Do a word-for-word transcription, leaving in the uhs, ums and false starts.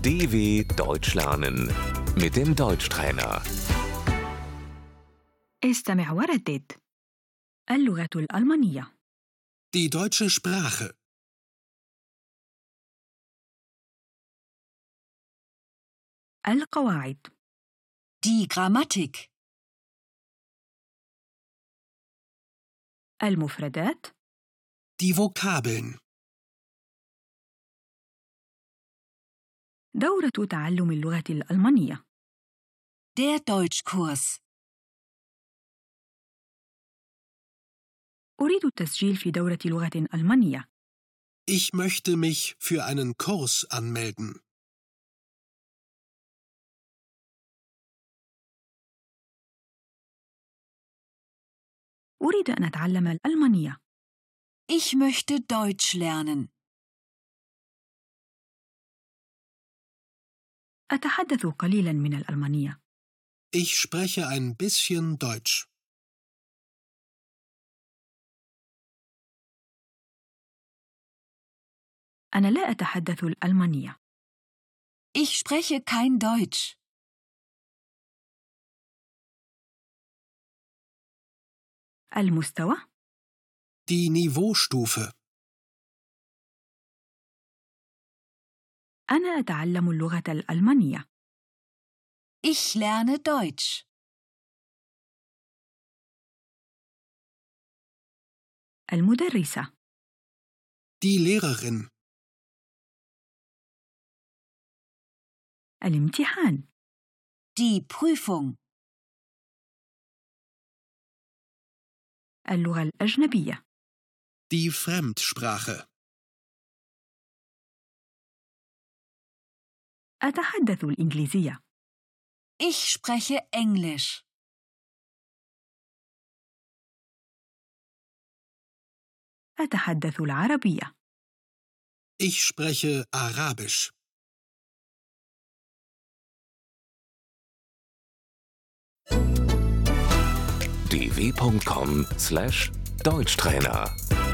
D W Deutsch lernen mit dem Deutschtrainer. استمع وردد. اللغة الألمانية. Die deutsche Sprache. القواعد. Die Grammatik. المفردات. Die Vokabeln. دورة تعلم اللغة الألمانية. Der Deutschkurs. أريد التسجيل في دورة لغة ألمانية. Ich möchte mich für einen Kurs anmelden. أريد أن أتعلم الألمانية. Ich möchte Deutsch lernen. أتحدث قليلا من الألمانية. Ich spreche ein bisschen Deutsch. أنا لا أتحدث الألمانية. Ich spreche kein Deutsch. المستوى. Die Niveaustufe. أنا أتعلم اللغة الألمانية. Ich lerne Deutsch. المدرسة. Die Lehrerin. الامتحان. Die Prüfung. اللغة الأجنبية. Die Fremdsprache. أتحدث الإنجليزية. Ich spreche Englisch. أتحدث العربية. Ich spreche Arabisch. d w punkt com slash Deutschtrainer